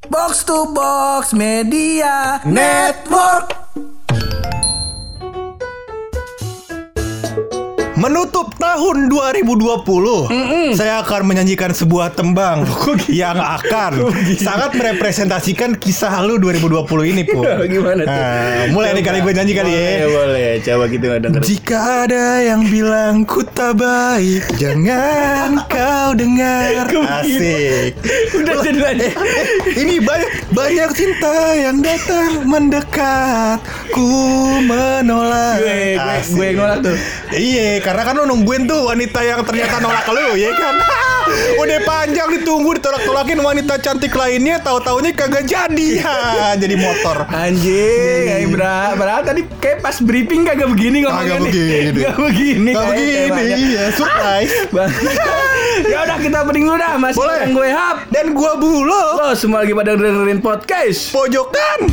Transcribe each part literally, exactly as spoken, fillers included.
Box to Box Media Network. Menutup tahun dua ribu dua puluh, Mm-mm. saya akan menyanyikan sebuah tembang yang akan sangat merepresentasikan kisah lu dua ribu dua puluh ini, Pu. Gimana tuh? Nah, mulai nih kali gue nyanyi kali ya. Boleh, boleh. Coba gitu denger. Jika ada yang bilang ku tak baik, jangan kau dengar. Asik. Udah jadi aja. Ini banyak banyak cinta yang datang mendekat, ku menolak. Gue, gue, gue yang nolak tuh. Iya, karena kan lu nungguin tuh wanita yang ternyata nolak lu, ya kan? Udah panjang ditunggu, ditolak-tolakin wanita cantik lainnya, tahu-taunya kagak jadi. Ha, jadi motor. Anjing, kayak berat. Padahal tadi kayak pas briefing kagak begini ngomongnya. Kagak begini. Kagak begini. Kagak begini, iya, surprise. Ya udah kita opening dulu dah. Masih Boleh. yang gue Hap Dan gua Bulog. Lo semua lagi pada dengerin podcast Pojokan.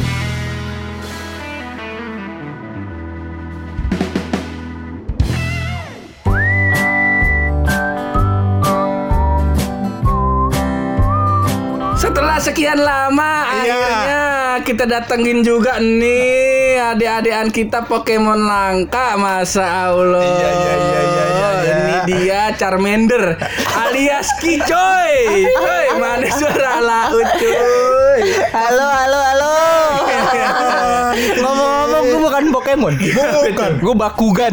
Setelah sekian lama, Iya. akhirnya kita datengin juga nih adik-adikan kita Pokemon langka, masa Allah. Iya, iya, iya, iya, iya, iya. Ini dia Charmander alias Kicoy. Coy, mana suara laut cuy? Halo, halo, halo. Ngomong-ngomong, gue bukan Pokemon. Bukan. Gue Bakugan.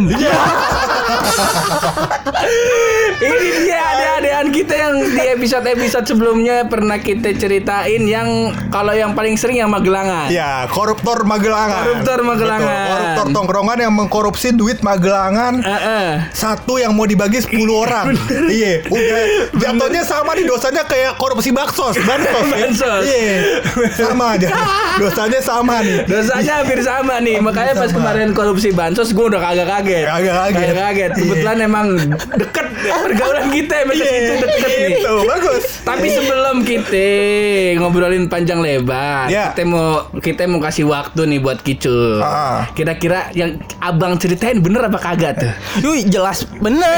Ini dia adik-adikan kita yang di episode-episode sebelumnya pernah kita ceritain, yang kalau yang paling sering yang Magelangan. Ya, koruptor Magelangan. Koruptor Magelangan. Betul. Koruptor tongkrongan yang mengkorupsi duit Magelangan. Uh-uh. Satu yang mau dibagi sepuluh orang. Iya, udah jatuhnya sama nih dosanya kayak korupsi baksos, bansos. Bansos. Iya. Sama aja. Dosanya sama nih. Dosanya hampir sama nih. Makanya pas sama. kemarin korupsi bansos gue udah kagak kaget. Kagak kaget. Kagak kaget. Kebetulan emang deket pergaulan kita sampai Iya, situ deket nih. gitu, bagus. Tapi sebelum kita ngobrolin panjang lebar, Ya. kita mau kita mau kasih waktu nih buat Kicul. Ah. Kira-kira yang abang ceritain bener apa kagak tuh? Yuh, jelas bener.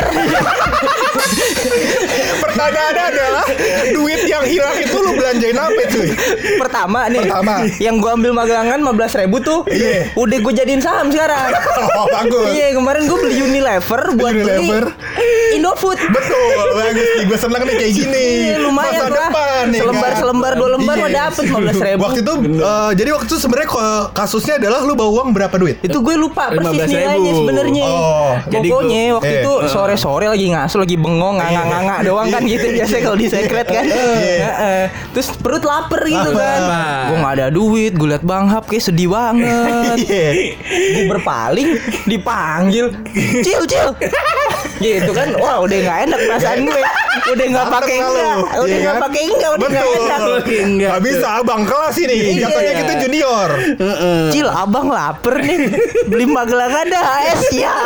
Pertanyaannya adalah duit yang hilang itu lu belanjain apa, cuy? Pertama nih, Pertama. yang gue ambil Magelangan lima belas ribu tuh, Iya. udah gue jadiin saham sekarang. Oh, bagus. Iya, kemarin gue beli Unilever buat Unilever. beli Indofood. Betul, bagus nih. Gue seneng nih kayak gini. Iya, lumayan Masa lah. depan nih, Selembar, kan? selembar, dua lembar Iya. mah dapet lima belas ribu. Waktu itu, eh, jadi waktu itu sebenarnya ko- kasusnya adalah lu bawa uang berapa duit? Itu gue lupa persis lima belas ribu. nilainya sebenarnya. Oh, jadi Pokoknya gua- waktu eh. itu sore-sore lagi ngasuh, lagi bengong, nganga-nganga doang kan gitu biasa kalau di secret kan. Heeh. Terus perut lapar gitu kan. Lapar. Gue nggak ada duit, gue liat Bang Hap kayak sedih banget. Iya. Gue berpaling, dipanggil, Cil, Cil. Gitu kan, wah udah nggak enak perasaan gue. Udah nggak Mantep pakai lah lu. enggak, udah Iya nggak kan? pakai enggak, udah nggak Betul. enak. Enggak. Gak bisa abang kelas ini. Iya. Jatuhnya kita junior. Cil, abang lapar nih, beli Magelangan dah, es ya.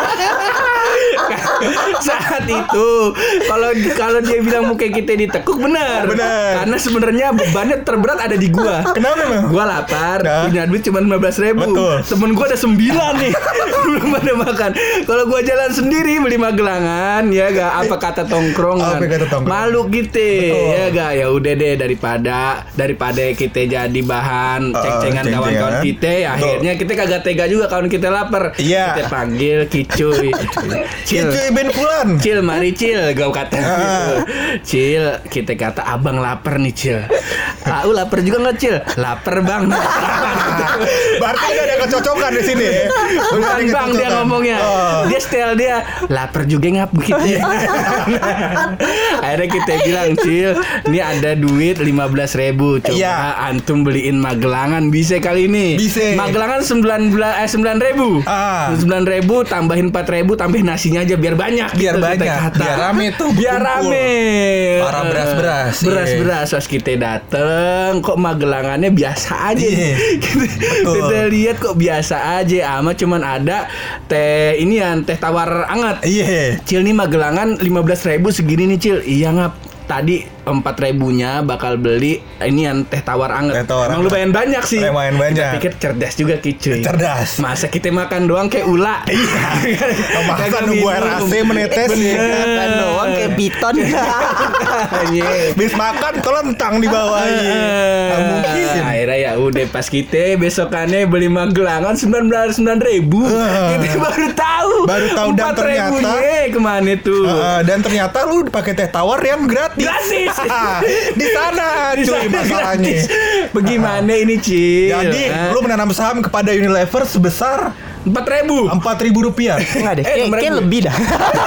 Saat itu kalau kalau dia bilang muka kita ditekuk, benar. Benar. Karena sebenarnya bebannya terberat ada di gua. Kenapa emang? Gua lapar, Nah. punya duit cuma lima belas ribu. Betul. Temen gua ada sembilan nih, belum pada makan. Kalau gua jalan sendiri beli Magelangan, ya gak, apa kata tongkrongan. Apa kata tongkrongan? Malu kita, Betul. ya gak, ya udah deh, daripada daripada kita jadi bahan Uh, ceng-cengan ceng-cengan. kawan-kawan kita, ya Betul. akhirnya kita kagak tega juga kawan kita lapar. Iya. Kita panggil Kicuy. Cil, Cuy Ben Fulan. Cil, mari Cil, gue kata gitu. Ah. Cil, kita kata abang lapar nih Cil. Ah, lu lapar juga nggak Cil? Lapar bang. Berarti gak ada kecocokan di sini. Ya? Bukan Nggak ada bang dia kecocokan. ngomongnya. Oh. Dia style dia lapar juga ngap begitu. Akhirnya kita bilang, Cil, ini ada duit lima belas ribu. Coba Iya. antum beliin Magelangan bisa kali ini. Bisa. Magelangan sembilan belas eh sembilan ribu. Ah. sembilan ribu tambahin empat ribu, tambahin nasinya aja biar banyak. Biar gitu, kita banyak. kata. Biar rame tuh. Biar berkumpul. rame. Para beras-beras, iya. Beras-beras pas kita dateng, kok Magelangannya biasa aja. Iya. Kita, Betul. kita lihat kok biasa aja, ama cuman ada teh inian, teh tawar anget. Iya. Cil nih Magelangan lima belas ribu segini nih Cil. Iya ngap. Tadi empat ribunya bakal beli ini yang teh tawar anget. Teh tawar Emang anget. lumayan banyak sih. Lumayan banyak. Kita pikir cerdas juga Kicuy. Cerdas. Masa kita makan doang kayak ula. Iya. Masa nunggu air A C menetes ya. Makan doang kayak piton. Iya. Bis makan kelentang di bawah. Nggak mungkin Udah pas kita besokannya beli Magelangan sembilan belas sembilan ribu. Uh, Kita baru tahu. Baru tahu dan ternyata kemana tuh? Uh, dan ternyata lu pakai teh tawar yang gratis. Gratis. Di sana Di cuy sana masalahnya. gratis. Bagaimana ini Cil? Jadi Hah? lu menanam saham kepada Unilever sebesar empat ribu. empat ribu rupiah. Enggak deh, Eh, kayak, kayak ribu. lebih dah.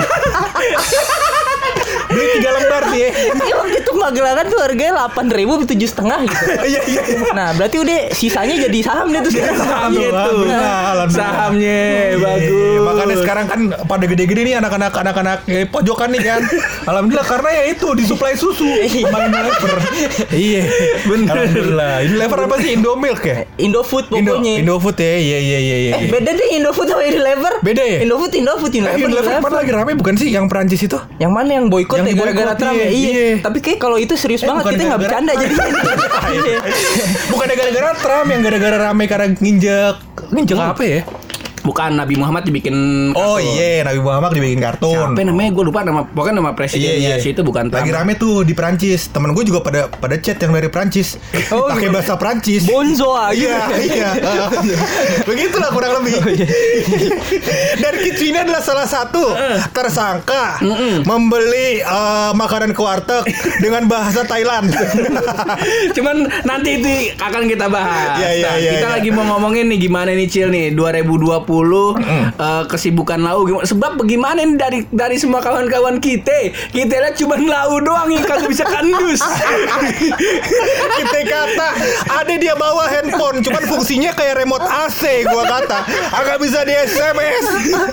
Beli tiga lembar sih. Ya waktu itu Magelangan tuh harganya delapan ribu tujuh setengah gitu. Iya iya. Nah berarti udah sisanya jadi saham deh tuh sekarang. Sahamnya tuh. Alhamdulillah, alhamdulillah. Sahamnya Iya, bagus. makanya sekarang kan pada gede-gede nih anak-anak anak-anak eh, pojokan nih kan. Alhamdulillah karena ya itu disuplai susu sama Unilever. Iya, benar. Alhamdulillah. Unilever apa sih? Indomilk ya? Indofood Indo pokoknya. Indofood ya. Iya iya iya iya. Eh, beda deh Indofood sama Unilever. Beda ya? Indofood, Indofood, Eh, Unilever. Unilever Unilever. mana lagi rame bukan sih yang Perancis itu? Yang mana yang boykot Yang ya gara-gara boykot, Trump ya? iya, Iya. iya. Tapi kayak kalau itu serius Eh, banget bukan kita nggak gara-gara- bercanda jadi. Iya. Bukan gara-gara Trump yang gara-gara rame karena nginjek nginjek apa ya? Bukan Nabi Muhammad dibikin Oh kartun. iya, Nabi Muhammad dibikin kartun. Apa namanya? Gue lupa nama. Pokoknya nama presidennya situ bukan Trump. Lagi rame tuh di Perancis. Temen gue juga pada pada chat yang dari Perancis. Oh, pakai bahasa Perancis. Bonzo aja. Iya, iya. Begitulah kurang lebih. Dan Kids ini adalah salah satu tersangka membeli eh, makanan ke warteg dengan bahasa Thailand. Cuman nanti itu akan kita bahas. Iya, iya, Nah, iya, kita iya. lagi mau ngomongin nih gimana nih Cil nih dua ribu dua puluh eh, kesibukan Lau gimana? Sebab bagaimana nih dari dari semua kawan-kawan kita, kita lihat cuma Lau doang yang kagak bisa kandus. Kita kata ada dia bawa handphone, cuman fungsinya kayak remote A C. Gua kata agak bisa di S M S.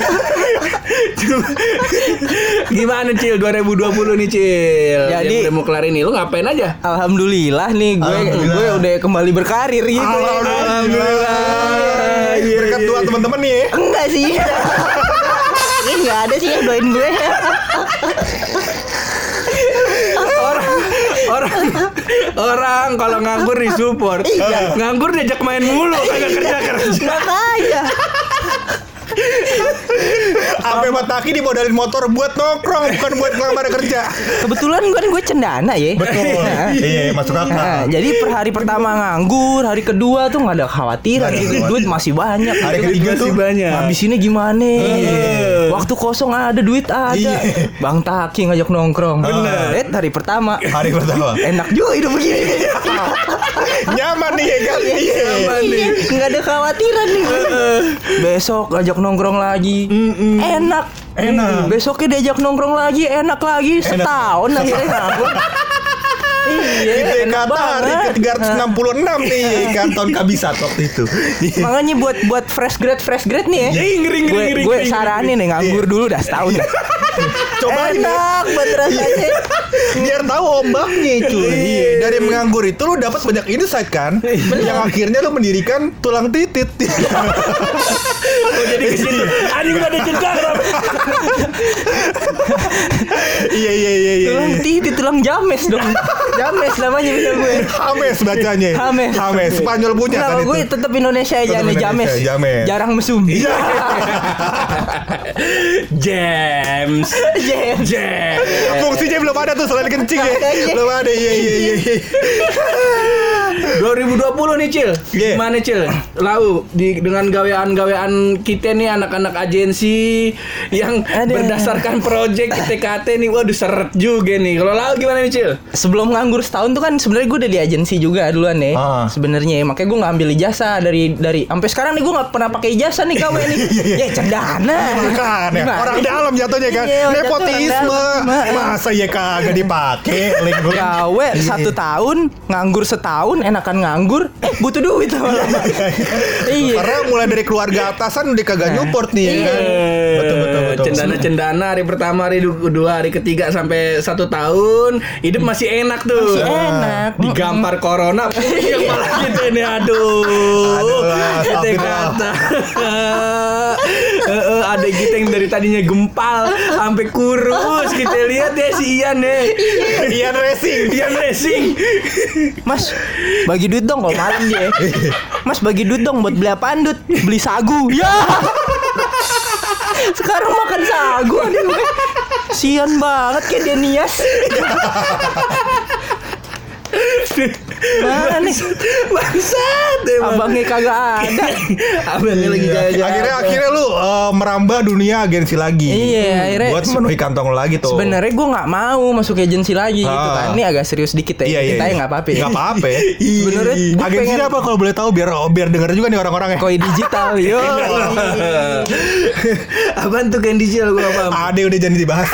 Gimana Cil dua ribu dua puluh nih Cil? Jadi- Yang udah mau kelar ini lu ngapain aja? Alhamdulillah nih gue Alhamdulillah. gue udah kembali berkarir gitu. Alhamdulillah. Iya, Berkat iya, doa iya. teman-teman nih. Enggak sih. Ini enggak ada sih yang doain gue. orang orang orang kalau nganggur disupport. Iya. Nganggur diajak main mulu kagak kerja kerja. Makanya. Sampai Mataki dimodalin motor buat nongkrong, bukan buat ngelamar kerja. Kebetulan kan gue cendana ya. Betul. Nah, Iya, masuk Nah, akal. jadi per hari pertama nganggur, hari kedua tuh nggak ada khawatiran Nggak ada gitu. khawatiran. Duit masih banyak. Hari gitu. ketiga Masih tuh banyak. Habisinnya gimana? Waktu kosong ada, duit ada. Iya. Bang Taki ngajak nongkrong. Bener. Eh, hari pertama. hari pertama. Enak juga hidup begini. Nyaman nih ya kan? Iya. Nyaman nih. Iya, nggak ada khawatiran nih. Besok ajak nongkrong lagi. Enak. Enak. Besoknya diajak nongkrong lagi, enak lagi. Setahun akhirnya nganggur. Iya, Kita enak kata hari banget. ke tiga ratus enam puluh enam nih kan tahun kabisat waktu itu. Makanya buat buat fresh grade fresh grade nih ya. Iya, ngeri, ngeri, Gue ngeri, gue ngeri, saranin nih nganggur dulu dah setahun dah. Cobain ya. Enak banget rasanya. Biar tahu ombaknya cuy. Iya. Dari menganggur itu lu dapat banyak insight kan? Yang akhirnya lu mendirikan tulang titit. Oh jadi ke situ. Adi udah ada cerita. Iya iya iya iya. Tulang titit, tulang james dong. James namanya bisa gue. Hames bacanya. Hames. Hames. Spanyol punya Nggak, kan gue itu. tetap Indonesia aja Tetap nih Indonesia, james. James. Jarang mesum. Iya. James. James. James. Fungsinya belum ada tuh selain kencing ya. Makanya. Belum ada. Iya iya iya. iya. dua ribu dua puluh nih Cil. Yeah. Gimana Cil? Lau di dengan gawean-gawean kita nih anak-anak agensi yang Ada. berdasarkan project T K T nih. Waduh seret juga nih. Kalau Lau gimana nih Cil? Sebelum nganggur setahun tuh kan sebenarnya gue udah di agensi juga duluan nih. Ah. Sebenarnya makanya gue ngambil ijazah dari dari sampai sekarang nih gue nggak pernah pakai ijazah nih kawe nih. Ya cendana. Kan ya. Gimana? Orang dalam jatuhnya kan. Iya, orang jatuh Nepotisme. orang dalam. Masa ya kagak dipakai link gue. Gawe satu tahun, nganggur setahun, enakan nganggur, eh butuh duit lama-lama. Iya. Karena mulai dari keluarga atasan udah kagak nyupport nih ya kan. Betul betul betul. Cendana-cendana hari pertama, hari kedua, hari ketiga sampai satu tahun hidup masih enak tuh. Masih enak. Digampar corona, yang malah gitu ini aduh. Aduh, Kita astagfirullah. kata. Heeh, ada kita yang dari tadinya gempal sampai kurus. Kita lihat ya si Ian ya. Ian Racing. Ian Racing. Mas, bagi duit dong kalau malam dia. Mas bagi duit dong buat beli apaan Dut? Beli sagu. Ya. Sekarang makan sagu aduh. Sian banget kayak dia nias. Mana nih? Bangsat emang. Abangnya kagak ada. Abangnya lagi jalan-jalan. Akhirnya akhirnya lu uh, merambah dunia agensi lagi. Iya, akhirnya buat memenuhi kantong lu lagi tuh. Sebenarnya gue nggak mau masuk agensi lagi gitu Ah. kan. Ini agak serius dikit ya. Iya, iya, Kita iya. nggak apa-apa. Nggak apa-apa. Sebenarnya gue Agensinya pengen apa kalau boleh tahu biar biar denger juga nih orang-orangnya. koi digital. Yo. Apaan tuh Candy Chill gue apa? Ade udah jangan dibahas.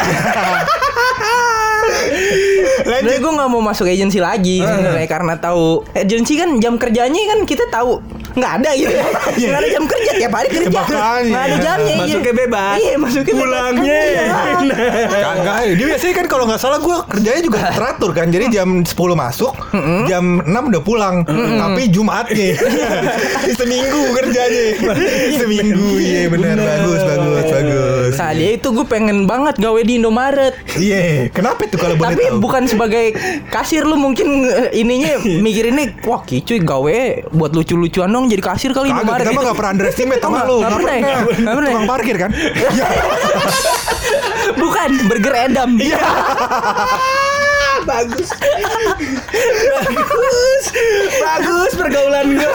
Sebenarnya Lanjut. gue nggak mau masuk agensi lagi sebenarnya karena tahu agensi kan jam kerjanya kan kita tahu nggak ada gitu ya. Nggak ada jam kerja tiap hari kerja. Makanya. Nggak ada jamnya. Masuknya iya. bebas. Iya masuknya bebas. Pulangnya. Kagak, dia biasanya kan kalau nggak salah gue kerjanya juga teratur kan. Jadi jam sepuluh masuk, jam enam udah pulang. Tapi Jumatnya seminggu kerjanya. Seminggu, iya benar, bagus, bagus, bagus. Nah dia itu gue pengen banget gawe di Indomaret. Iya, kenapa tuh kalau boleh Tapi tahu? bukan sebagai kasir lu mungkin eh, ininya mikirinnya wah kicuy gawe buat lucu-lucuan dong jadi kasir kali Kagak, Indomaret. kita mah nggak pernah underestimate sama nggak, lu. nggak pernah ya? Nggak pernah ya? Tukang parkir kan? Bukan burger Edam. Iya. Bagus. Bagus. Bagus pergaulan gue.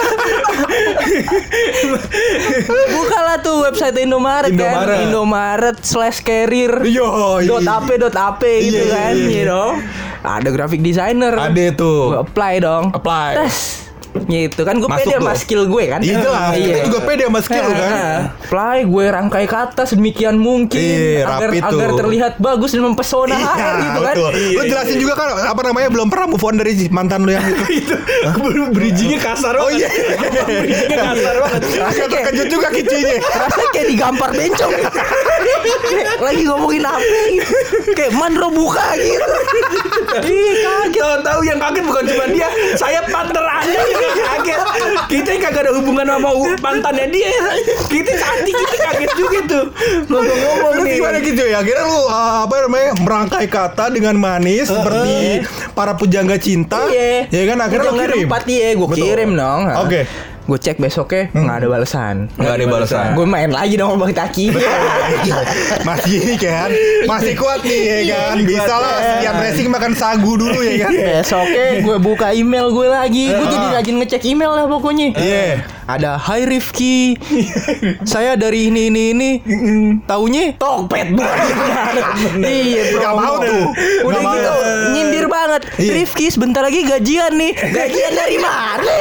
Bukalah tuh website Indomaret, Indomaret. kan Indomaret slash carrier Yo, dot ap dot ap gitu Iya, kan, iya, iya. you know. Ada graphic designer. Ada tuh. Gue apply dong. Apply. Tes. Gitu kan gue Masuk pede tuh. sama skill gue kan. Iya lah, kita juga pede sama skill lu kan. Apply, gue rangkai kata sedemikian mungkin Iya, agar rapi tuh. agar terlihat bagus dan mempesona H R gitu kan. betul. Lu jelasin juga kan apa namanya belum pernah move on dari mantan lu yang itu. Itu bridgingnya kasar banget. Oh iya. Bridgingnya kasar banget. Agak terkejut juga kicinya. Rasanya kayak digampar bencong. Lagi ngomongin apa gitu. Kayak Mandro buka gitu. Ih kaget. Tahu-tahu yang kaget bukan cuma dia, saya partner Anda juga kaget. Kita yang kagak ada hubungan sama u- mantannya dia. Kita hati kita kaget juga tuh. Ngomong-ngomong Lu nih. gimana gitu ya? Akhirnya lu uh, apa namanya merangkai kata dengan manis seperti para pujangga cinta. Iya. Ya kan akhirnya lu Jangan kirim. empat iya, gue Betul. kirim dong. Oke. Gue cek besoknya nggak ada balasan. Nggak ada balasan. Gue main lagi dong sama Bang Taki. Masih ini kan, masih kuat nih ya kan. Bisa lah sekian racing makan sagu dulu ya kan. Besoknya gue buka email gue lagi. Gue jadi rajin ngecek email lah pokoknya. Iya. Ada Hai Rifki, saya dari ini ini ini. Taunya Tokped Iya bro. Gak mau tuh. Udah Nggak mau. gitu nyindir banget. Iya. Rifki sebentar lagi gajian nih. Gajian dari mana?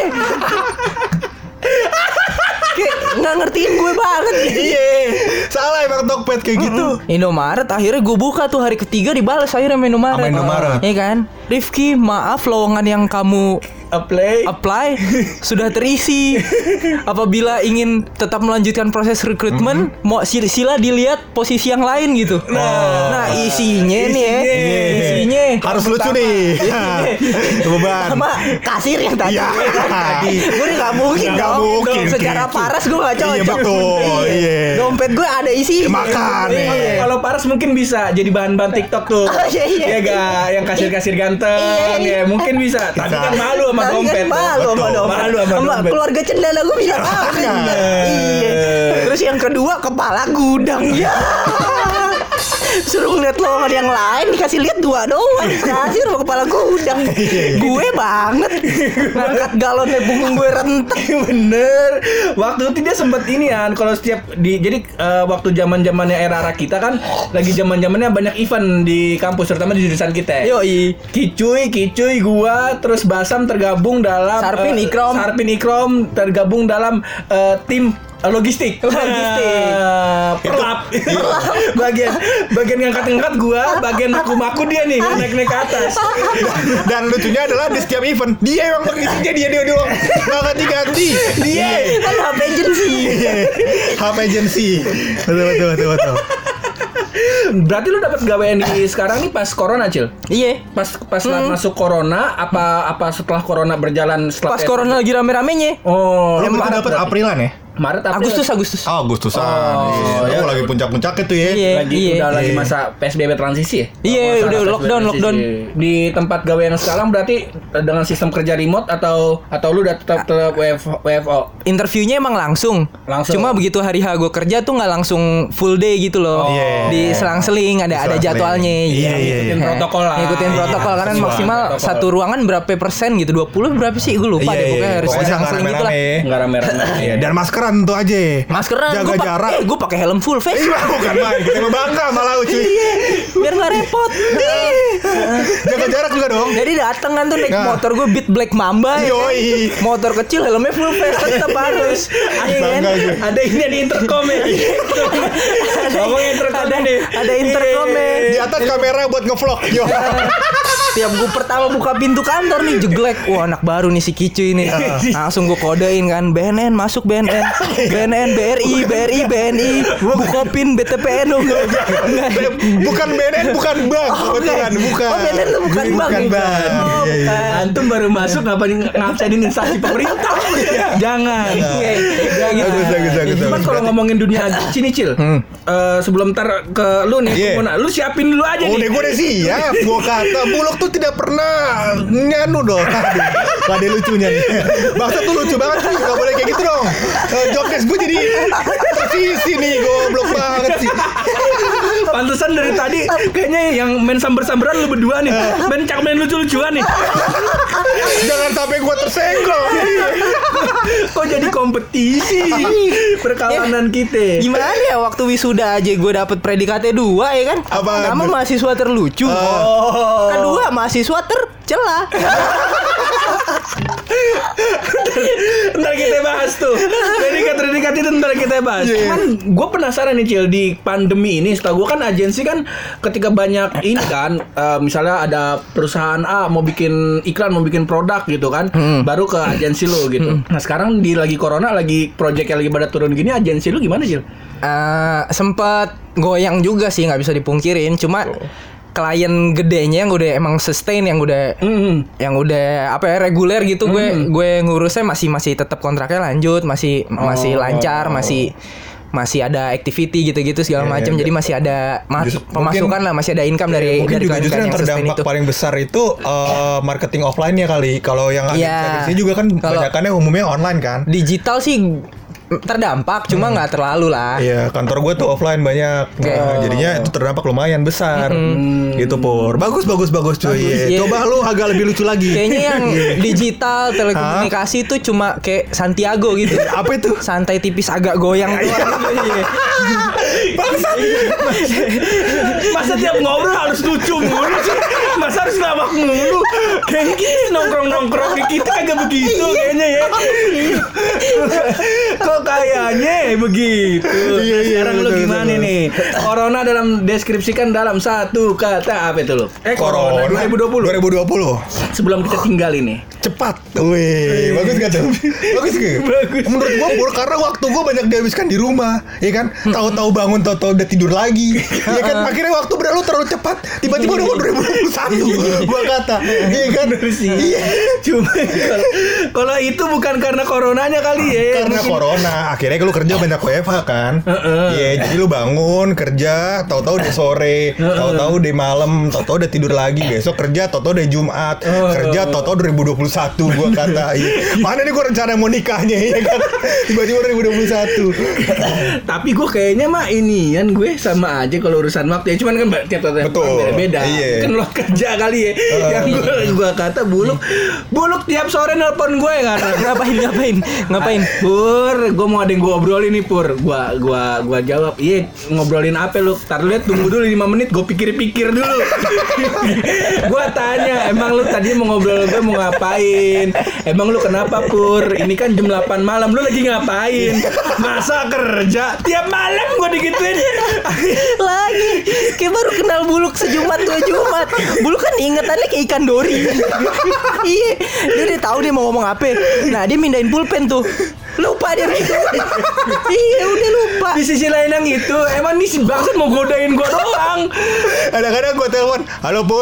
Kayak nggak ngertiin gue banget. Iya. Salah emang Tokped kayak gitu. Indomaret akhirnya gue buka tuh hari ketiga dibalas akhirnya sama Indomaret. Sama Indomaret. Iya kan? Rifki, maaf lowongan yang kamu Apply. apply sudah terisi. Apabila ingin tetap melanjutkan proses rekrutmen, mau sil- sila dilihat posisi yang lain gitu. Nah, isinya nih ya. Iya. Isinya Harus lucu nih. Beban. sama kasir yang tadi. Iya. Tadi. Gue nggak mungkin Nggak dong. mungkin, Secara Ki. paras gue nggak cocok. Iya, betul. Iya. Dompet gue ada isi. Makan. Iya. Kalau Paras mungkin bisa jadi bahan-bahan TikTok tuh. Oh, iya, iya. Ya gak, yang kasir-kasir ganteng Iya, iya. ya mungkin bisa. Tapi Bisa. kan malu sama Tapi kan dompet. tuh. malu sama Betul. dompet. Malu sama Sama dompet. keluarga cendana gue bilang apa? Iya. Terus yang kedua kepala gudang. Ya. Suruh ngeliat lowongan yang lain dikasih lihat dua doang. Kasir sama kepala gudang. Gue banget. Ngangkat galonnya punggung gue rentek. Bener. Waktu itu dia sempet ini kan. Kalau setiap di jadi eh, waktu zaman zamannya era-era kita kan lagi zaman zamannya banyak event di kampus terutama di jurusan kita. Yoi. Kicuy, Kicuy, gua, terus Basam tergabung dalam Sarpin, eh, Ikrom. Sarpin Ikrom tergabung dalam eh, tim eh, logistik. Logistik. Eh, Perlap. bagian bagian ngangkat-ngangkat gua, bagian maku-maku dia nih naik-naik ke atas. Dan lucunya adalah di setiap event dia emang pengisinya dia dia doang. Nggak ganti-ganti. Dia. Kan H P agency. H P agency. Betul betul betul betul. Berarti lu dapat gawean di sekarang nih pas corona, Cil? Iya. Pas pas masuk corona apa apa setelah corona berjalan setelah Pas corona lagi rame-ramenya. Oh, Lu berarti dapat Aprilan ya? Maret April. Agustus Agustus. Oh, Agustusan. Oh, iya. ya. Oh, lagi puncak-puncak itu ya. Iya. Lagi udah lagi Iya. masa P S B B transisi ya? Iya, Oh, udah masa lockdown, P S B B lockdown. transisi. Di tempat gawe yang sekarang berarti dengan sistem kerja remote atau atau lu udah tetap tetap W F O? Interviewnya emang langsung. Langsung. Cuma begitu hari H gue kerja tuh nggak langsung full day gitu loh. Oh. Iya. Di selang-seling ada ada Selang-seling. jadwalnya. Iya, iya, Ngikutin Eh, protokol lah. Ngikutin Iya, protokol karena sesuai maksimal protokol. satu ruangan berapa persen gitu? dua puluh berapa sih? Gue lupa Iya, deh pokoknya iya. harus Pokoknya selang-seling nggak gitu lah. rame-rame. Enggak rame-rame. Iya, dan maskeran tuh aja. Maskeran Jaga gua pak- jarak. Eh, gue pakai helm full face. Iya, bukan main. Kita mah bangga malah cuy. Biar nggak repot. Jaga jarak juga dong. Jadi dateng kan tuh naik Nah. motor gue Beat Black Mamba ya kan? Yoi. Motor kecil helmnya full face tetap harus. Iya kan? Bangga gue. Ada ini di intercom ya. Ada Ngomong intercom ada, nih. ada intercomnya. Di atas kamera buat ngevlog. Yo. Tiap gue pertama buka pintu kantor nih jeglek. Wah anak baru nih si Kicu ini. Langsung gue kodein kan B N N masuk B N N B N N B R I B R I B N I Bukopin B T P N. Bukan B N N, bukan bank. Kebetulan, bukan. Oh, B N N tuh bukan bank. Bukan bank. Oh, Iya, iya. Antum baru masuk ngapain ngabsenin instansi pemerintah? Jangan. Jangan. Bagus, bagus, bagus, Cuman bagus. kalau ngomongin dunia sini Cil, eh, sebelum ntar ke lu nih, Iya. gua mau na- lu siapin dulu aja Oh, nih. udah gue udah siap. Gue kata Bulog tuh tidak pernah nyanu dong. Aduh, gak ada lucunya nih. Bangsa tuh lucu banget sih. Gak boleh kayak gitu dong. Uh, Jokes gue jadi tersisi nih. Goblok banget sih. Pantesan dari tadi kayaknya yang main samber-samberan lu berdua nih. Main cak main lucu-lucuan nih. Jangan sampai gue tersenggol. Kok jadi kompetisi perkawanan kita. Gimana ya waktu wisuda aja gue dapet predikatnya dua ya kan? Apaan? Nama mahasiswa terlucu. Oh. Kedua mahasiswa tercela. Ntar kita bahas tuh. Predikat-predikat itu ntar kita bahas. Yeah. Cuman gue penasaran nih Cil, di pandemi ini setahu gue kan agensi kan ketika banyak ini kan eh, misalnya ada perusahaan A mau bikin iklan, mau bikin produk gitu kan, baru ke agensi lu gitu. Nah sekarang di lagi corona, lagi project yang lagi pada turun gini, agensi lu gimana Cil? Eh, sempet goyang juga sih nggak bisa dipungkirin. Cuma klien gedenya yang udah emang sustain, yang udah Mm. yang udah apa ya reguler gitu, gue gue ngurusnya masih masih tetap kontraknya lanjut, masih masih lancar, masih masih ada activity gitu-gitu segala Iya, macam. iya. Jadi masih ada mas- Justru- pemasukan mungkin- lah, masih ada income dari Mungkin dari juga justru klien-klien yang yang sustain terdampak itu. paling besar itu uh, marketing offline-nya kali. Kalau yang Iya. agensi juga kan Kalau- banyakannya umumnya online kan. Digital sih terdampak, cuma nggak terlalu lah. Iya, kantor gue tuh offline banyak. Oke. Nah, jadinya itu terdampak lumayan besar. Gitu Pur. Bagus bagus bagus cuy. Bagus, iya. Coba lu agak lebih lucu lagi. Kayaknya yang digital telekomunikasi itu cuma kayak Santiago gitu. Apa itu? Santai tipis agak goyang doang. Iya. Masa tiap ngobrol harus lucu mulu sih? Masa harus lawak mulu? Kayaknya kita nongkrong-nongkrong di kita kagak begitu kayaknya ya. Kok kayaknya begitu? Iya, iya, Sekarang lu betul, gimana betul. nih? Corona dalam deskripsikan dalam satu kata apa itu lu? Eh Corona dua ribu dua puluh. dua ribu dua puluh. Sebelum kita tinggal ini. Cepat. Wih, bagus gak tuh? Bagus gak? Bagus. Menurut gua Pur, karena waktu gua banyak dihabiskan di rumah, ya kan? Tahu-tahu bangun, tahu-tahu udah tidur lagi. Ya kan? Akhirnya waktu berlalu terlalu cepat. Tiba-tiba udah dua ribu dua puluh satu. Gua kata, iya kan? Iya. Cuma kalau kalau itu bukan karena coronanya kali ya. Karena Mungkin- corona, akhirnya lu kerja banyak W F H kan? Iya, jadi lu bangun kerja, tahu-tahu udah sore, tahu-tahu udah malam, tahu-tahu udah tidur lagi, besok kerja, tahu-tahu udah Jumat, kerja, tahu-tahu dua ribu dua puluh satu gua kata, iya. Mana nih gua rencana mau nikahnya ya kan? Tiba-tiba dua ribu dua puluh satu. Tapi gue kayaknya mah ini kan gue sama aja kalau urusan waktu ya. Cuman kan tiap tiap Betul. beda. Iya. Kan lo kerja kali ya. Yang gue gue kata buluk, buluk tiap sore nelpon gue kata. Ngapain ngapain ngapain? Pur, gue mau ada yang gue obrolin nih Pur. Gua gua gua jawab, iya ngobrolin apa lu? Tar lihat tunggu dulu lima menit, gue pikir-pikir dulu. Gue tanya, emang lu tadi mau ngobrol gue mau ngapain? Emang lu kenapa Pur? Ini kan jam delapan malam, lu lagi ngapain? Masa kerja? Tiap malam gue digituin. Lagi kayak baru kenal Buluk sejumat dua Jumat. Buluk kan ingetannya kayak ikan dori. Iya, dia udah tahu dia mau ngomong apa. Nah dia mindahin pulpen tuh. Lupa dia gitu. Iya udah lupa. Di sisi lain yang itu, emang nih si bangsat mau godain gue doang. Kadang-kadang gua telepon, halo Pur,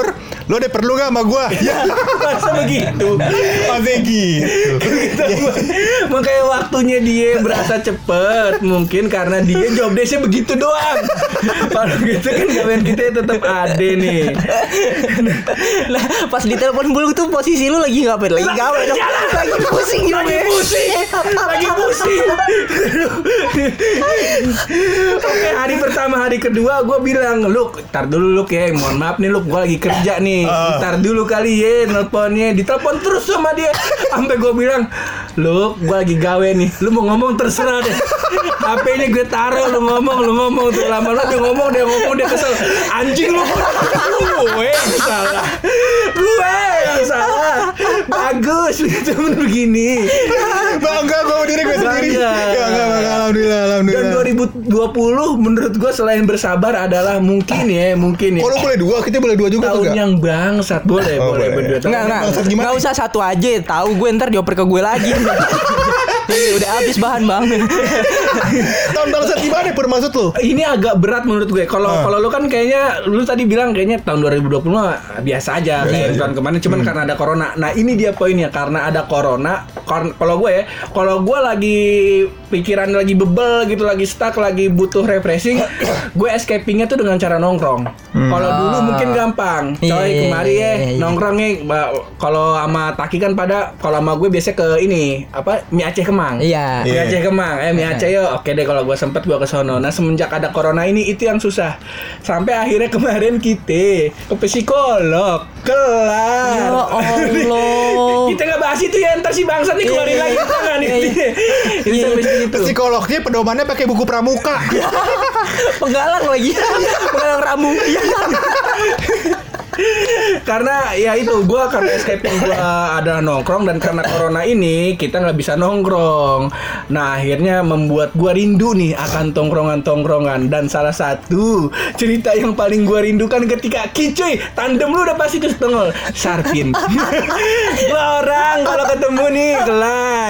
Lo deh perlu gak sama gua? Ya Masa begitu. Masa gitu. Makanya waktunya dia berasa cepet. Mungkin karena dia job desk-nya begitu doang. Kalau gitu kan gawean kita tetap ada nih. Lah pas ditelepon Buluk tuh posisi lu lagi ngapain? Lagi gawe dong. Lagi pusing juga. Lagi pusing. Lagi pusing. Oke, hari pertama, hari kedua gue bilang, Luk, ntar dulu Luk ya, mohon maaf nih Luk, gue lagi kerja nih, ntar dulu kali ya nelponnya. Ditelepon terus sama dia, sampai gue bilang, Luk, gue lagi gawe nih, lu mau ngomong terserah deh. H P-nya gue taruh, lu ngomong, lu ngomong tuh lama-lama dia ngomong, dia ngomong, dia kesel. Anjing lu, gue yang salah, gue yang salah. Bagus, temen begini. Bangga gue diri gue sendiri. Bangga. Enggak, enggak, alhamdulillah, alhamdulillah. Dan dua ribu dua puluh menurut gue selain bersabar adalah mungkin ya, mungkin ya. Kalau boleh dua, kita boleh dua juga tahun enggak? yang bangsat boleh, Oh, boleh boleh. berdua. Enggak, enggak. Maksud gimana? Enggak usah satu aja. Tahu gue ntar dioper ke gue lagi. Ini udah habis bahan bang. Tahun bangsat gimana Pur maksud lu? Ini agak berat menurut gue. Kalau Ah. kalau lu kan kayaknya lu tadi bilang kayaknya tahun dua ribu dua puluh mah biasa aja kayak tahun kemarin cuman karena ada corona. Nah, ini dia poinnya karena ada corona. Kar- Kalau gue ya, kalau gue lagi pikiran lagi bebel gitu, lagi stuck, lagi butuh refreshing, gue escapingnya tuh dengan cara nongkrong. Kalau dulu mungkin gampang. Coy, Iya, kemari ya iya, iya. nongkrong nih. Ba- Kalau sama Taki kan pada kalau sama gue biasanya ke ini apa mie Aceh Kemang. Iya. Mie Aceh Kemang, eh mie Aceh yuk. Oke deh kalau gue sempet gue ke sono. Nah semenjak ada corona ini itu yang susah. Sampai akhirnya kemarin kita ke psikolog. Kelar. Ya Allah. Kita nggak bahas itu ya, ntar si bangsat nih keluarin Iya, lagi iya. tangan Iya, nih. iya. Ini sampai situ. Psikolognya pedomannya pakai buku pramuka. Penggalang lagi. Penggalang ramu. Karena ya itu gue karena escaping gue ada nongkrong dan karena corona ini kita nggak bisa nongkrong. Nah akhirnya membuat gue rindu nih akan tongkrongan-tongkrongan dan salah satu cerita yang paling gue rindukan ketika Kicuy tandem lu udah pasti ke setengol Sarpin. Dua orang kalau ketemu nih kelar.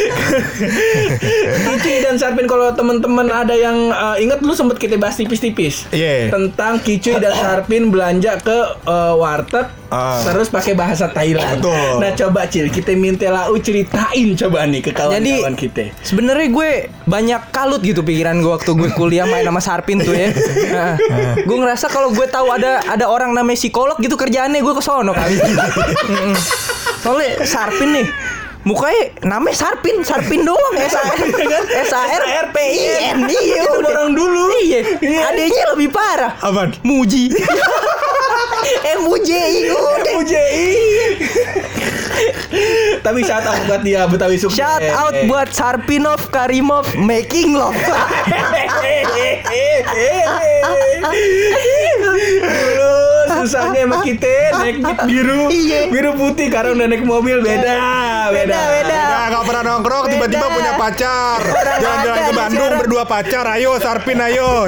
Kicuy dan Sarpin kalau teman-teman ada yang uh, ingat lu sempet kita bahas tipis-tipis Iya. tentang Kicuy dan Sarpin belanja ke uh, warteg Ah. terus pakai bahasa Thailand. Betul. Nah coba Cil kita minta Lau ceritain coba nih ke kawan-kawan Jadi kita. sebenarnya gue banyak kalut gitu pikiran gue waktu gue kuliah main sama Sarpin tuh ya. Nah, gue ngerasa kalau gue tahu ada ada orang namanya psikolog gitu kerjaannya gue ke sono kali. Mm-mm. Soalnya Sarpin nih mukanya namanya Sarpin, Sarpin doang S A R S A R P I N. Iya Itu udah. orang dulu. Iya. Adanya lebih parah. Apaan? Muji. M U J I udah. U J I. Tapi shout out buat dia Betawi sukses. Shout out buat Sarpinov Karimov Making Love. Dulu susahnya emang kita naik jeep biru, Iya. biru putih. Sekarang udah naik mobil beda, beda, Beda, beda. Nah, gak pernah nongkrong, tiba-tiba Beda. punya pacar. Jalan-jalan ada ke di Bandung sekarang. berdua pacar. Ayo Sarpin ayo.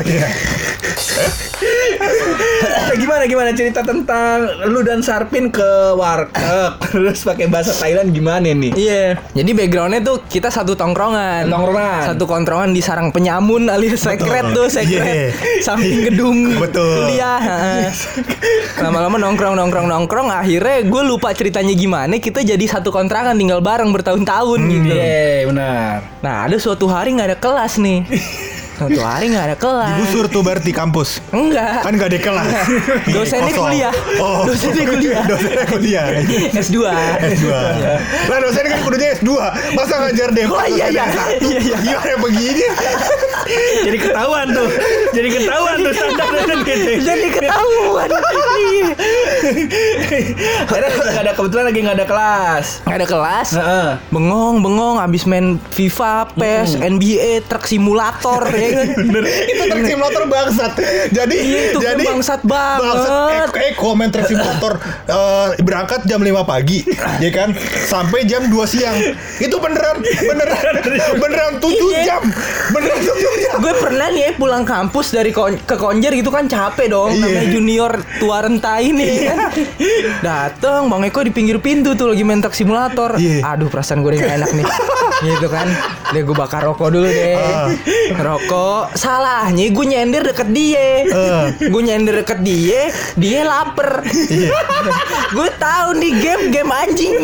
Nah, gimana gimana cerita tentang lu dan Sarpin ke warteg terus pakai bahasa Thailand gimana nih? Iya. Jadi backgroundnya tuh kita satu tongkrongan. Tongkrongan. Satu tongkrongan di Sarang Penyamun alias sekret tuh sekret. Yeah. Samping gedung Betul. kuliah. Heeh. Lama-lama nongkrong nongkrong nongkrong. Akhirnya gue lupa ceritanya gimana. Kita jadi satu kontrakan tinggal bareng bertahun-tahun gitu. Iya benar. Nah ada suatu hari nggak ada kelas nih. Suatu hari nggak ada kelas. Digusur tuh berarti kampus. Enggak. Kan gak ada kelas. Dosennya Kosong. kuliah. Oh. Dosennya kuliah. Dosennya kuliah. S dua. S dua. Lah dosen kan kudunya S dua. Masa ngajar deh. Oh iya iya. Iya iya. Gimana begini? Jadi ketahuan tuh. Jadi ketahuan tuh standar dosen gitu. Jadi ketahuan. Iya. Akhirnya nggak ada kebetulan lagi nggak ada kelas. Nggak ada kelas. Heeh. Bengong bengong abis main FIFA, P E S, N B A, Truck Simulator ya kan. Bener. Itu truk simulator bangsat. Jadi Iya, itu jadi bangsat banget. Bangsat. Eh, eh komen truk simulator eh, berangkat jam lima pagi, ya kan? Sampai jam dua siang. Itu beneran beneran beneran tujuh Iya. jam. Beneran tujuh jam. Gue pernah nih ya, pulang kampus dari kon- ke Konjer gitu kan capek dong. Iya. Namanya junior tua renta ini kan. Dateng Bang Eko di pinggir pintu tuh lagi main Truck Simulator. Iya. Aduh perasaan gue udah gak enak nih. Gitu kan. Deh gue bakar rokok dulu deh. Ah. Rokok Cok, salahnya gue nyender deket dia. Eh. Gue nyender deket dia, dia lapar. Gue tahu nih game game anjing.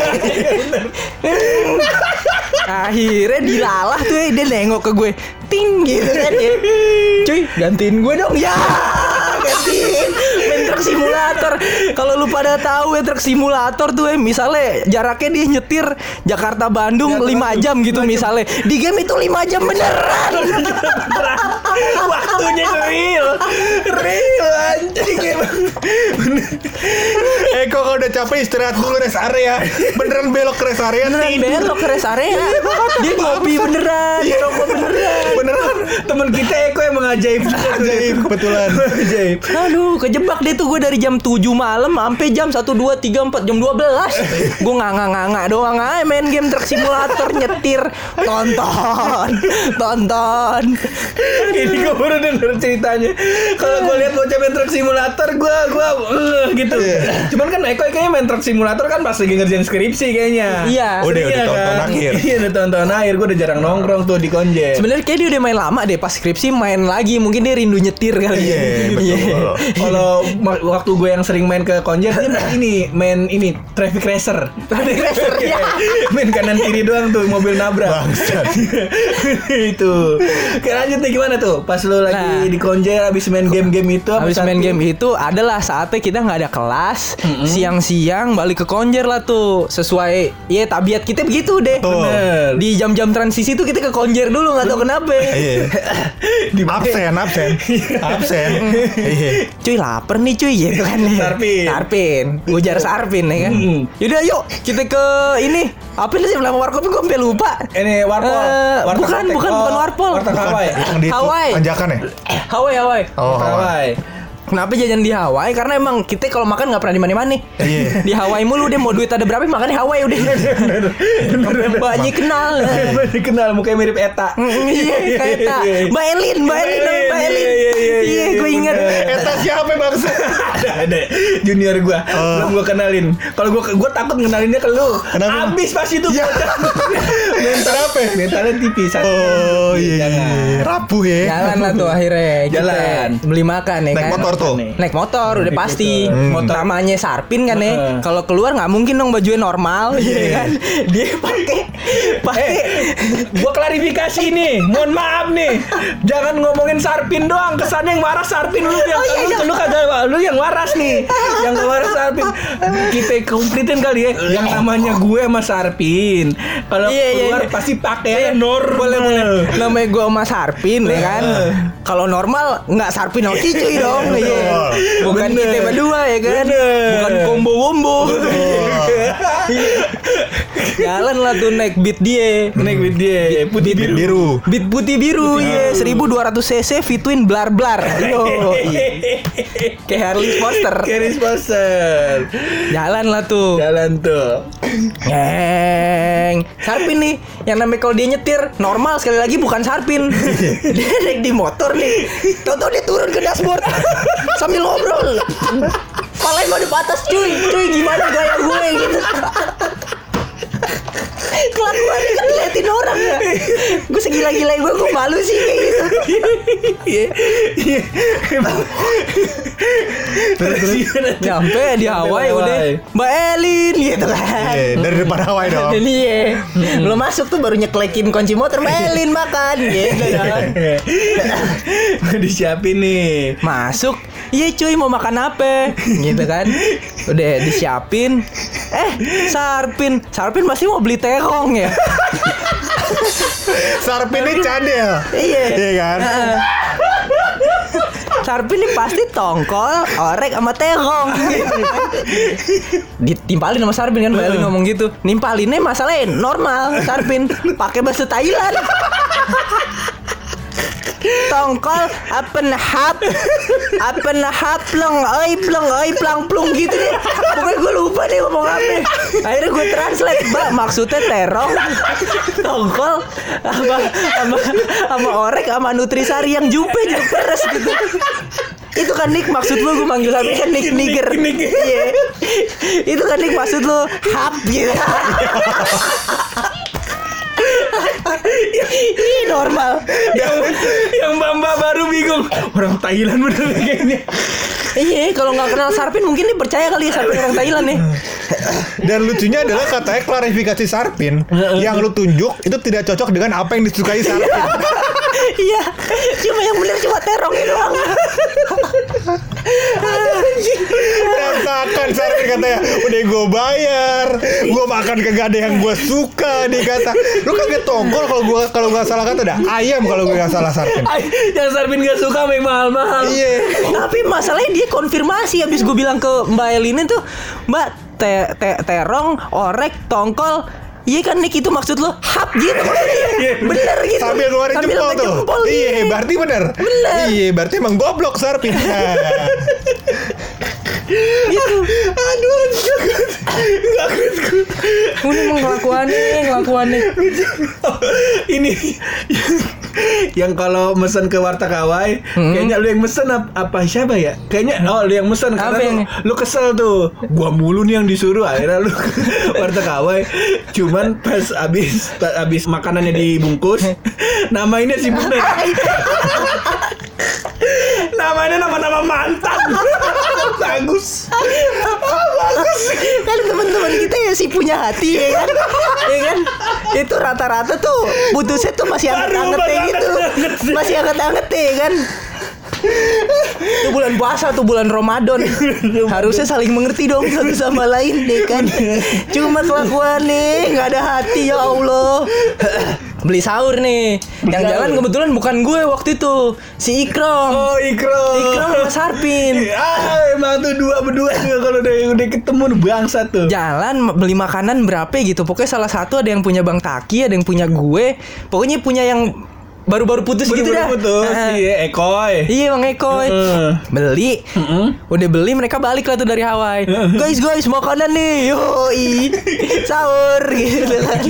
Akhirnya dilalah tuh ya, dia nengok ke gue, ting gitu kan ya. Cuy, gantiin gue dong ya. Gantiin main truk simulator. Kalau lu pada tahu ya truk simulator tuh ya, misalnya jaraknya dia nyetir Jakarta Bandung lima jam gitu misalnya. Di game itu lima jam beneran. Waktunya real. Real anjing emang. Eh kok kalau udah capek istirahat dulu rest area. Beneran belok ke rest area. Beneran belok ke rest area. Dia ngopi beneran, ngerokok beneran. Beneran. Temen kita Eko emang ajaib. Ajaib kebetulan. Ajaib. Aduh, kejebak deh tuh gue dari jam tujuh malam sampai jam satu, dua, tiga, empat, jam dua belas. Gue nganga-nganga doang aja main game truk simulator, nyetir, tonton, tonton. Ini gue baru denger ceritanya. Kalau gue lihat bocah main truk simulator, gue gue uh, gitu. Cuman kan Eko kayaknya main truk simulator kan pas lagi ngerjain skripsi kayaknya. Iya. Udah udah Iya tonton kan? akhir. Iya udah tonton akhir. Gue udah jarang nongkrong tuh di Konjen. Sebenarnya kayak dia udah main lama deh, pas skripsi main lagi, mungkin dia rindu nyetir kali. Iya, betul. Kalau ma- waktu gue yang sering main ke Konjen dia main ini, main ini traffic racer. Traffic racer, ya. Main kanan kiri doang tuh mobil nabrak. Bangsat. Itu. Oke lanjut nih gimana tuh? Pas lu lagi Nah. di Konjen abis main game-game itu Habis main game itu adalah saatnya kita nggak ada kelas, siang-siang balik ke Konjer lah tuh, sesuai ya tabiat kita begitu deh. Betul. Bener. Di jam-jam transisi tuh kita ke Konjer dulu, nggak tahu kenapa. Iya. Di Absen, absen. Absen. Iya. Cuy lapar nih cuy gitu kan. Sarpin. Sarpin. Ujar Sarpin ya kan. Mm. Yaudah yuk kita ke ini. Apa sih nama warkop gue sampai lupa. Ini warpol. Eh, Warteg bukan, Warteg. bukan, Oh, bukan warpol. Warteg Bukan, Hawaii. yang di Hawaii. tanjakan ya? Hawaii Hawaii. Oh, Warteg Hawaii. Hawaii. Kenapa jajan di Hawaii? Karena emang kita kalau makan nggak pernah di mana-mana. Iya. Di Hawaii mulu deh, mau duit ada berapa makannya Hawaii udah. Banyak kenal. Banyak kenal mukanya mirip Eta. Mm, Iya kayak Eta. Mbak Elin, Mbak Elin, Mbak Mbak Elin, Elin. iya, iya, iya, Iya, iya, gue ingat. bener. Eta siapa bangsa? ada ada junior gua belum gua kenalin. Kalau gua gua takut ngenalinnya ke lu. Kenapa? Abis pas itu Ya. bocah. Mental apa? Mentalnya tipis. Oh iya. Jangan. iya. Rapuh ya. Jalan lah tuh akhirnya. Kita Jalan. beli makan ya Naik kan. motor tuh. Naik motor udah Naik pasti. motor. Motor namanya Sarpin kan ya. Heeh. Kalau keluar nggak mungkin dong bajunya normal, Iya. ya kan? Dia pakai pakai Eh, gua klarifikasi nih. Mohon maaf nih. Jangan ngomongin Sarpin doang. Kesannya yang waras Sarpin lu yang lu, lu kagak lu yang waras nih. Yang gak waras Sarpin. Kita komplitin kali ya. Yang namanya gue sama Sarpin. Kalau Iya, iya, keluar iya. pasti pakai normal. boleh boleh. Namanya gue sama Sarpin ya kan. Kalau normal nggak Sarpin sama Cicuy dong. Iya. Bukan Bener. kita berdua ya kan. Bener. Bukan combo-wombo. Jalan lah tuh naik beat dia. Naik with dia putih biru. Biru. Beat putih biru ya, seribu dua ratus cc Fitwin blar blar. Yo. Kayak Harley Foster. Keris Poster. Jalan lah tuh. Jalan tuh. Ngeng. Sarpin nih, yang namanya kalau dia nyetir normal sekali lagi bukan Sarpin. Dia naik di motor nih. Tahu-tahu dia turun ke dashboard sambil ngobrol. Palanya mau di atas cuy, cuy gimana gaya gue gitu. Kelakuannya kan liatin orang ya. Gue segila-gila gue, gue malu sih kayak gitu. Iya. Iya. Nyampe di Hawaii udah Mbak Elin gitu kan. Iya, dari depan Hawaii dong. Dan iya, lo masuk tuh baru nyeklekin kunci motor, Mbak Elin makan gitu kan. Disiapin nih. Masuk, iya cuy mau makan apa? Gitu kan. Udah disiapin. Eh, Sarpin, Sarpin pasti mau beli terong ya. Sarpin ini cadel. Iya. Iya kan? Heeh. Sarpin ini pasti tongkol, orek sama terong. Ditimpalin sama Sarpin kan, Mbak Elin ngomong gitu. Nimpalinnya masalahnya normal, Sarpin pakai bahasa Thailand. Tongkol apen hap apen hap plong oi plong oi plang plung gitu deh. Pokoknya gue lupa deh ngomong apa. Akhirnya gue translate, Mbak maksudnya terong, tongkol sama sama sama orek sama nutrisari yang jupe juga peres gitu. Itu kan Nick maksud lu, gue manggil sampai kan Nick Niger. Iya. Itu kan Nick maksud lu hap gitu. Ya Ih, normal. Yang yang Mbak baru bingung. Orang Thailand bener kayaknya. Iya, kalau nggak kenal Sarpin mungkin dia percaya kali ya Sarpin orang Thailand nih. Dan lucunya adalah katanya klarifikasi Sarpin yang lu tunjuk itu tidak cocok dengan apa yang disukai Sarpin. Iya, cuma yang bener cuma terongnya doang. Rasakan Sarpin katanya, udah gue bayar, gue makan kagak ada yang gue suka nih kata. Lu kagak tongkol kalau gue kalau nggak salah kata dah ayam kalau gue nggak salah Sarpin. Yang Sarpin gak suka memang mahal-mahal. Iya. Tapi masalahnya dia konfirmasi habis gue bilang ke Mbak Elina tuh, Mbak te te terong, orek, tongkol. Iya kan Nick itu maksud lo hap gitu. Bener gitu. Sambil ngeluarin Sambil jempol ngeluarin tuh. jempol, Iya, berarti bener. Bener. Iya, berarti emang goblok Sarpin. Gitu. Aduh, enggak good. Ini emang kelakuannya, kelakuannya. Ini yang kalau mesen ke warteg Hawaii, Hmm. kayaknya lu yang mesen ap- apa siapa ya? Kayaknya oh lu yang mesen Apa karena lu, yang- lu kesel tuh. Gua mulu nih yang disuruh, akhirnya lu ke warteg Hawaii. Cuman pas abis pas abis makanannya dibungkus, namainnya si bener. Namanya nama-nama mantan. Bagus. Bagus. Kan teman-teman kita ya sih punya hati ya kan. Ya kan? Itu rata-rata tuh putusnya tuh masih anget-anget Baru gitu. anget-anget sih. Masih anget-anget ya kan. Itu bulan puasa tuh bulan Ramadan. Harusnya saling mengerti dong satu sama lain deh kan. Cuma kelakuan nih nggak ada hati ya Allah. Beli sahur nih. Yang sahur. jalan kebetulan bukan gue waktu itu, si Ikrom. Oh, Ikro. Ikrom sama Sarpin. Ah, emang tuh dua berdua juga kalau udah udah ketemu bangsa tuh. Jalan beli makanan berapa gitu. Pokoknya salah satu ada yang punya Bang Taki, ada yang punya gue. Pokoknya punya yang baru-baru putus gitu dah. Putus, Nah, iya, Ekoy. Iya Bang Eko. Heeh. Beli. Udah beli mereka balik lah tuh dari Hawaii. Guys guys makanan nih. Yoi. Sahur gitu kan.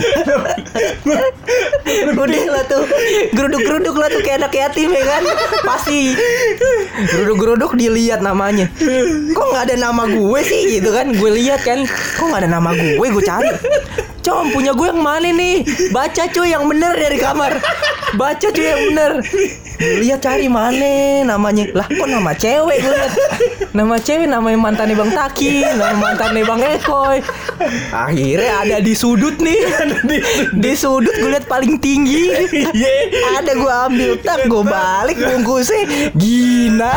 Udah lah tuh. Geruduk-geruduk lah tuh kayak anak yatim ya kan. Pasti. Geruduk-geruduk dilihat namanya. Kok nggak ada nama gue sih gitu kan. Gue lihat kan. Kok nggak ada nama gue. Gue cari. Com punya gue yang mana nih. Baca cuy yang bener dari kamar. Baca cuy yang bener. Lihat cari mana namanya. Lah kok nama cewek gue lihat. Nama cewek namanya mantannya Bang Taki, nama mantannya Bang Ekoy. Akhirnya ada di sudut nih. Di sudut gue lihat paling tinggi. Ada gue ambil tak gue balik bungkusnya Gina.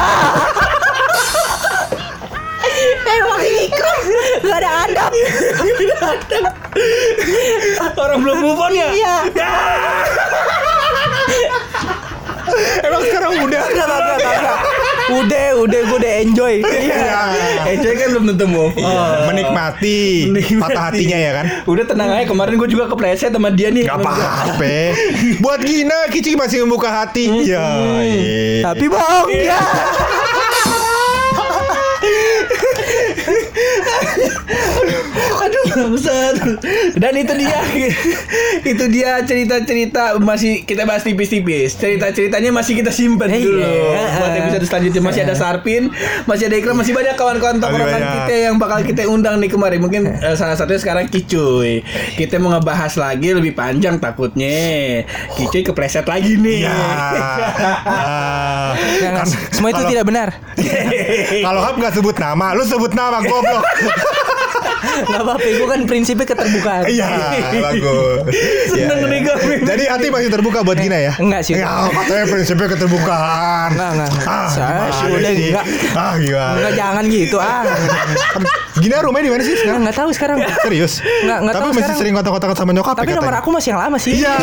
Emang Ikram gak ada adab. Orang belum move on ya? Iya. Emang sekarang udah. Enggak, enggak, enggak, enggak. Udah, udah, gue udah enjoy. Iya. Enjoy kan belum tentu move on. Menikmati, Menikmati. patah hatinya ya kan. Udah tenang aja, kemarin gue juga kepleset sama dia nih. Gak apa-apa. Buat Gina, Kici masih membuka hati. Ya. iya. Tapi bang, ya. Aduh, bangsat. Dan itu dia. Itu dia cerita-cerita masih kita bahas tipis-tipis. Cerita-ceritanya masih kita simpan Iya. dulu. Buat episode selanjutnya masih ada Sarpin, masih ada Ikram, masih banyak kawan-kawan Masih tongkrongan banyak. kita yang bakal kita undang nih kemarin. Mungkin eh, salah satunya sekarang Kicuy. Kita mau ngebahas lagi lebih panjang takutnya. Kicuy kepleset lagi nih. Ya. Ah. Jangan, Kan- semua itu kalau- tidak benar. Kalau Hap nggak sebut nama, lu sebut nama goblok. Gak apa-apa, gue kan prinsipnya keterbukaan. Iya, bagus. Seneng Iya, nih iya. kami. Jadi hati masih terbuka buat Gina ya? Enggak sih. Ya, katanya prinsipnya keterbukaan. Enggak, enggak, enggak. Ah, Saya gimana sih udah sih? enggak. Ah, gimana? Enggak, jangan gitu ah. Gina rumahnya di mana sih sekarang? Enggak tahu sekarang. Serius? Nggak- nggak Tapi tahu masih sekarang. sering kontak-kontakan sama nyokap Tapi ya nomor katanya? aku masih yang lama sih. Iya.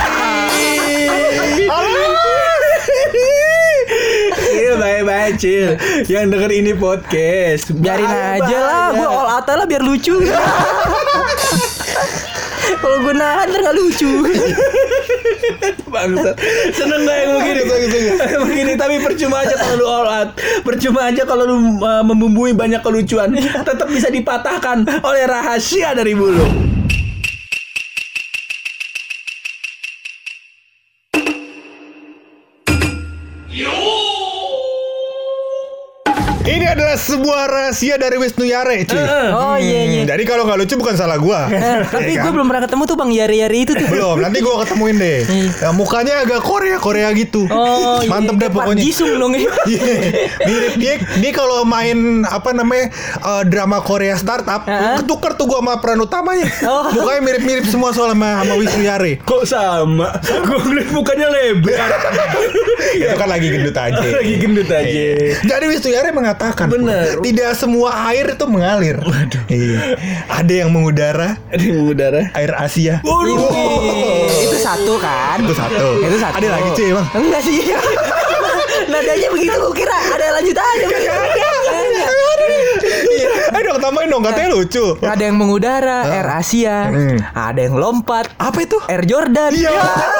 Cil, bye-bye Cil. Yang denger ini podcast Biarin Bye-bye. aja lah, gue all out lah biar lucu. Kalau gue nahan ntar gak lucu. Bangsat. Seneng gak yang begini? Begini tapi percuma aja kalau lu all out. Percuma aja kalau lu uh, membumbui banyak kelucuan. Tetap bisa dipatahkan oleh rahasia dari bulu. Ini adalah sebuah rahasia dari Wisnu Yare, cuy. Oh iya iya. Jadi kalau nggak lucu bukan salah gua. Eh, tapi Ya gue kan? belum pernah ketemu tuh Bang Yari-Yari itu tuh. Belum, nanti gua ketemuin deh. Ya, mukanya agak Korea Korea gitu. Oh, Mantep iya. deh pokoknya. Pak Jisung dong ya. Iya. Mirip dia, dia kalau main apa namanya eh, drama Korea startup, Heeh. ketukar tuh gua sama peran utamanya. Oh. Mukanya mirip-mirip semua soal sama, sama Wisnu Yare. Kok sama? Gue ngeliat mukanya lebar. Itu kan lagi gendut aja. Lagi gendut aja. Jadi Wisnu Yare mengatakan, Bener. tidak semua air itu mengalir. Iya. Ada yang mengudara, Ada yang mengudara. air Asia. Wih, itu satu kan? Itu satu. Itu satu. Ada lagi cuy, Bang. Enggak sih. Nadanya begitu gue kira ada lanjutannya. Iya. Ayo dong tambahin dong, katanya lucu. Ada yang mengudara, Air Asia. Hmm. Ada yang lompat, Apa itu? Air Jordan. Iya.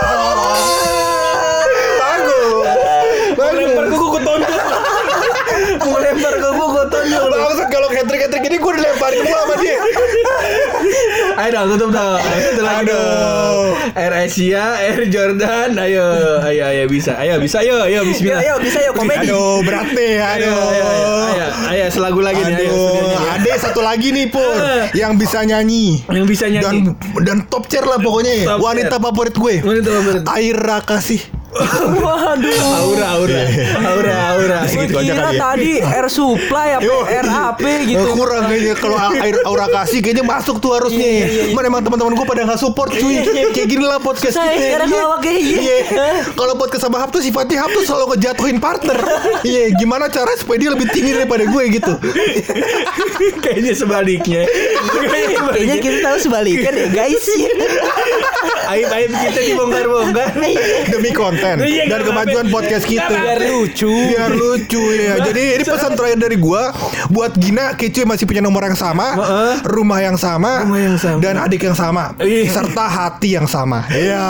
Bagus. Lempar Bagus. ke gue tonjol. Mau lempar ke gue gue tonjol. Bagus kalau hat-trick-hat-trick ini gue dilemparin mulu sama dia. Ayo dong tutup dong. Satu lagi Aduh. dong. Air Asia, Air Jordan. Ayo, ayo, ayo bisa. Ayo bisa, ayo, ayo Bismillah. Ayo bisa yuk komedi. Aduh, berat nih. Ayo, Aduh. ayo, ayo, ayo, ayo, selagu lagi nih. Ayo, Aduh, studionya nih. ada satu lagi nih Pur Eh. yang bisa nyanyi. Yang bisa nyanyi. Dan dan top chair lah pokoknya. Top Wanita chair. favorit gue. Wanita favorit. Aira Kasih. Waduh. Aura, aura, aura, aura. Gue Segitu aja kira kali ya. tadi Air Supply apa Yo. Air A P gitu. Eh, kurang kayaknya kalau air Aura Kasih kayaknya masuk tuh harusnya. Mana emang teman-teman gue pada nggak support cuy. Kayak gini lah podcast Saya kita. sekarang Iya. ngelawak kayak gini. Iya. Kalau podcast sama Hap tuh sifatnya Hap tuh selalu ngejatuhin partner. Iya, gimana cara supaya dia lebih tinggi daripada gue gitu. Kayaknya sebaliknya. Kayaknya Kayaknya sebaliknya. kita tahu sebaliknya deh guys. Aib-aib kita dibongkar-bongkar. Demi konten Iya, dan nggak kemajuan apa-apa. podcast kita. Nggak Biar lucu. Biar lucu ya. Jadi ini pesan terakhir dari gua buat Gina, Kicuy masih punya nomor yang sama, Heeh. rumah yang sama, Rumah yang sama. dan adik yang sama, Iya. serta hati yang sama. Iya.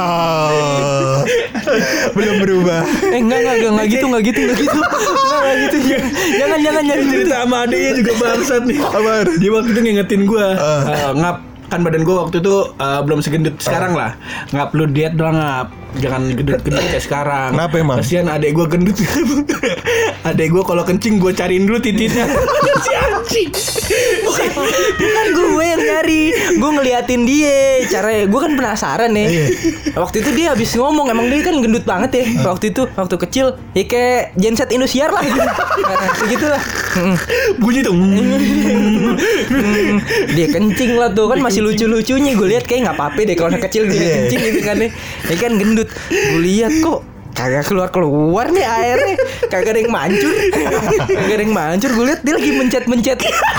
Belum berubah. Eh enggak enggak enggak, enggak gitu enggak gitu enggak gitu. Enggak enggak gitu. Jangan jangan jangan gitu. Cerita sama adiknya juga bangsat nih. Apaan? Dia waktu itu ngingetin gue Ah. uh, ngap kan badan gue waktu itu uh, belum segendut sekarang lah. Ngap lu diet doang ngap. Jangan gendut-gendut kayak sekarang. Kenapa emang? Kasihan adek gue gendut. Adek gue kalau kencing gue cariin dulu titiknya. Si anjing. Bukan gue yang nyari. Gue ngeliatin dia. Caranya gue kan penasaran nih. Iya. Waktu itu dia habis ngomong, emang dia kan gendut banget ya. Waktu itu waktu kecil ya kayak genset Indosiar lah gitu. Nah, segitulah. Mm. Bunyi tuh. Hmm, dia kencing lah tuh kan masih lucu-lucunya. Gue lihat kayak nggak apa-apa deh kalau anak kecil dia Iya. kencing gitu kan deh. Dia kan gendut. Gue lihat kok kagak keluar-keluar nih airnya. Kagak ada yang mancur. Kagak ada yang mancur. Gue lihat dia lagi mencet-mencet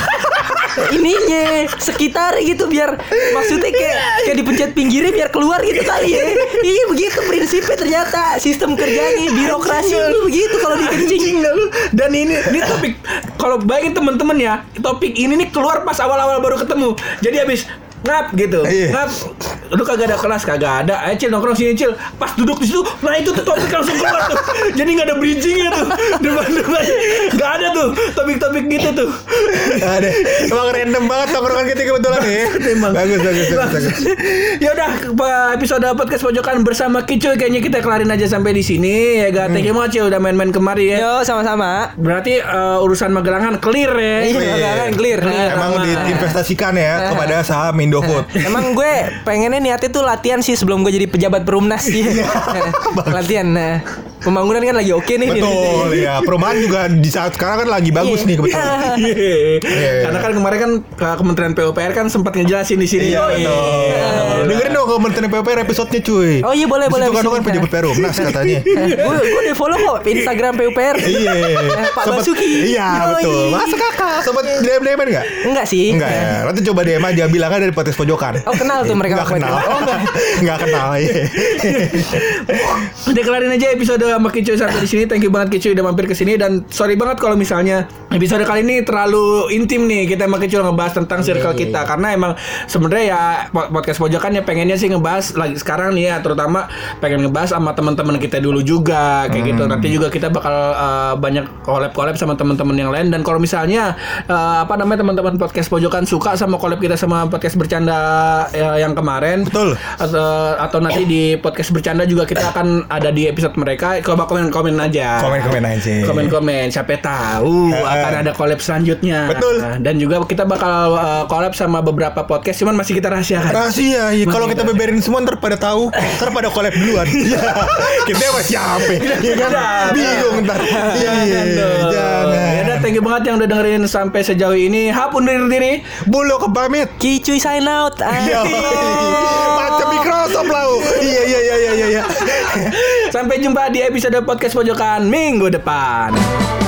ininya sekitar gitu biar maksudnya kayak kayak dipencet pinggirnya biar keluar gitu kali ya. Iya begitu prinsipnya ternyata sistem kerjanya birokrasi ini begitu kalau dikencing. Anjing nggak lu? Dan ini ini topik kalau bayangin temen-temen ya, topik ini nih keluar pas awal-awal baru ketemu. Jadi habis ngap gitu, Iya. ngap, lu kagak ada kelas, kagak ada, ayo Cil nongkrong sini Cil, pas duduk di situ, nah itu tuh topik langsung keluar tuh, jadi nggak ada bridgingnya tuh, depan-depan, nggak ada tuh topik-topik gitu tuh. Ada. Emang random banget tongkrongan kita kebetulan ya. Emang. Bagus, bagus, bagus, bagus. Ya udah, episode podcast pojokan bersama Kicuy kayaknya kita kelarin aja sampai di sini ya, gak thank you banget Cil udah main-main kemari ya. Yo sama-sama. Berarti uh, urusan Magelangan clear ya. Iya kan clear. Emang Sama. diinvestasikan ya kepada saham Indofood. Emang gue pengennya niatnya tuh latihan sih sebelum gue jadi pejabat perumnas sih. Latihan. Nah, pembangunan kan lagi oke nih. Betul ya. Perumahan juga di saat sekarang kan lagi bagus Iya. nih kebetulan. Iya. Karena kan kemarin kan ke Kementerian P U P R kan sempat ngejelasin di sini. Iya betul. Dengerin dong Kementerian P U P R episode-nya cuy. Oh iya boleh Di boleh. situ kan abis kan ini. pejabat Perumnas katanya. Gue gue udah follow kok Instagram P U P R. Iya. Eh, Pak Sempet- Basuki. Iya Yoi. betul. Masa kakak sempet D M D M enggak? Enggak sih. Enggak ya. Nanti coba D M aja bilang aja dari podcast pojokan. Oh kenal tuh mereka. Enggak kenal. Oh enggak. Enggak kenal ya. Udah kelarin aja episode sama Kicuy sampai di sini. Thank you banget Kicuy udah mampir ke sini dan sorry banget kalau misalnya episode kali ini terlalu intim nih kita sama Kicuy ngebahas tentang circle kita karena emang sebenarnya ya podcast pojokan ya pengennya sih ngebahas lagi sekarang nih ya terutama pengen ngebahas sama teman-teman kita dulu juga kayak gitu. Nanti juga kita bakal uh, banyak collab-collab sama teman-teman yang lain dan kalau misalnya uh, apa namanya teman-teman podcast pojokan suka sama collab kita sama podcast bercanda ya, yang kemarin Betul. atau, atau nanti di podcast bercanda juga kita akan ada di episode mereka coba komen-komen aja. Komen-komen aja. Komen-komen, siapa tahu Uh, akan ada collab selanjutnya. Betul. Nah, dan juga kita bakal uh, collab sama beberapa podcast, cuman masih kita rahasiakan. Rahasia, ya. Kalau kita beberin semua ntar pada tahu, ntar pada collab duluan. Iya. Kita sama siapa? Iya kan? Bingung ntar. Iya, jangan. Ya udah, thank you banget yang udah dengerin sampai sejauh ini. Hap undur diri. Bulu ke pamit. Kicuy sign out. Iya. Macam Microsoft lah. Iya iya iya iya iya. Sampai jumpa di episode podcast pojokan minggu depan.